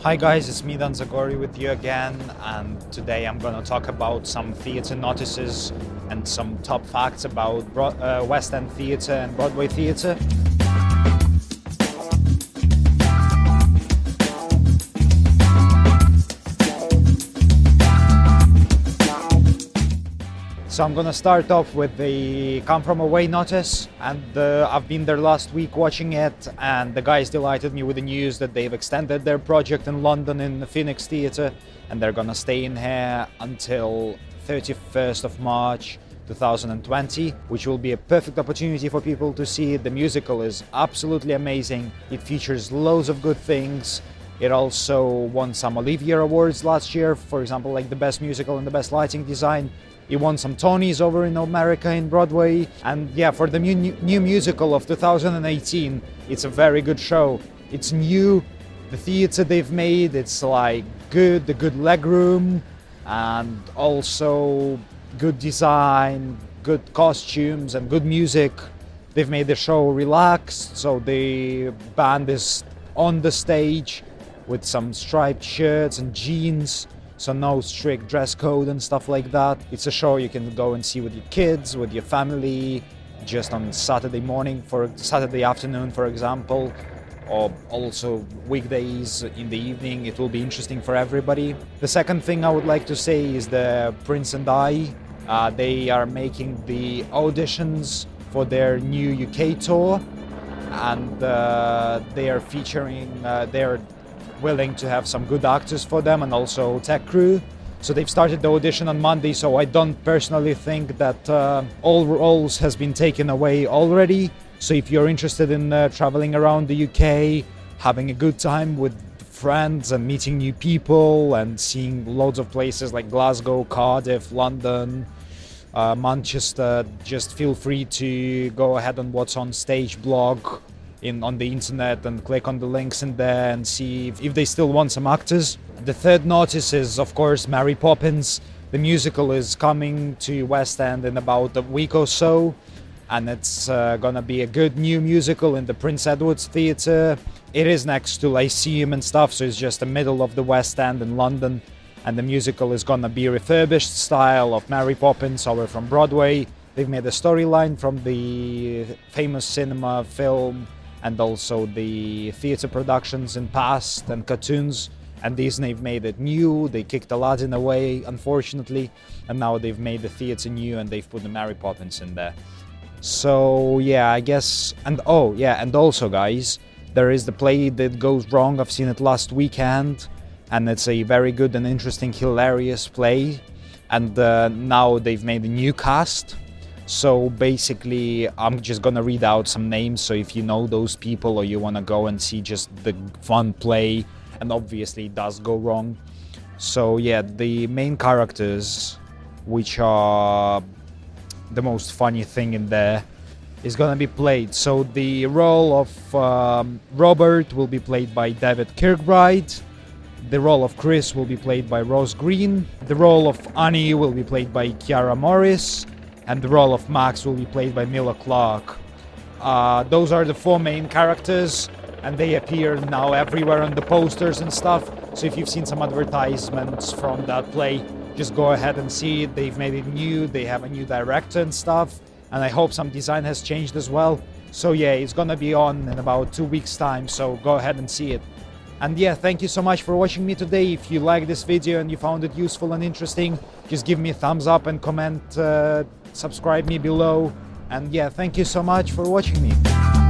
Hi guys, it's me Dan Zagori with you again, and today I'm gonna talk about some theatre notices and some top facts about West End theatre and Broadway theatre. So I'm gonna start off with the Come From Away notice, and I've been there last week watching it, and the guys delighted me with the news that they've extended their project in London in the Phoenix Theatre, and they're gonna stay in here until 31st of March 2020, which will be a perfect opportunity for people to see it. The musical is absolutely amazing. It features loads of good things. It also won some Olivier Awards last year, for example, like the best musical and the best lighting design. It won some Tonys over in America in Broadway. And yeah, for the new musical of 2018, it's a very good show. It's new, the theatre they've made, it's like good, the good legroom, and also good design, good costumes and good music. They've made the show relaxed, so the band is on the stage with some striped shirts and jeans. So no strict dress code and stuff like that. It's a show you can go and see with your kids, with your family, just on Saturday morning, for Saturday afternoon, for example, or also weekdays in the evening. It will be interesting for everybody. The second thing I would like to say is the Prince and I. They are making the auditions for their new UK tour, and they are featuring, they're willing to have some good actors for them and also tech crew. So they've started the audition on Monday, so I don't personally think that all roles has been taken away already. So if you're interested in traveling around the UK, having a good time with friends and meeting new people and seeing loads of places like Glasgow, Cardiff, London, Manchester, just feel free to go ahead on What's On Stage blog on the internet and click on the links in there and see if they still want some actors. The third notice is, of course, Mary Poppins. The musical is coming to West End in about a week or so, and it's gonna be a good new musical in the Prince Edward's Theatre. It is next to Lyceum and stuff, so it's just the middle of the West End in London, and the musical is gonna be refurbished style of Mary Poppins over from Broadway. They've made a storyline from the famous cinema film and also the theatre productions in past and cartoons, and Disney've made it new. They kicked Aladdin away, unfortunately, and now they've made the theatre new and they've put the Mary Poppins in there. So yeah, I guess, and oh yeah, and also guys, there is the play That Goes Wrong. I've seen it last weekend, and it's a very good and interesting, hilarious play, and now they've made a new cast. So basically, I'm just gonna read out some names, so if you know those people or you wanna go and see just the fun play, and obviously it does go wrong. So yeah, the main characters, which are the most funny thing in there, is gonna be played. So the role of Robert will be played by David Kirkbride. The role of Chris will be played by Rose Green. The role of Annie will be played by Kiara Morris. And the role of Max will be played by Mila Clark. Those are the four main characters, and they appear now everywhere on the posters and stuff. So if you've seen some advertisements from that play, just go ahead and see it. They've made it new, they have a new director and stuff, and I hope some design has changed as well. So yeah, it's gonna be on in about 2 weeks' time, so go ahead and see it. And yeah, thank you so much for watching me today. If you liked this video and you found it useful and interesting, just give me a thumbs up and comment, subscribe me below. And yeah, thank you so much for watching me.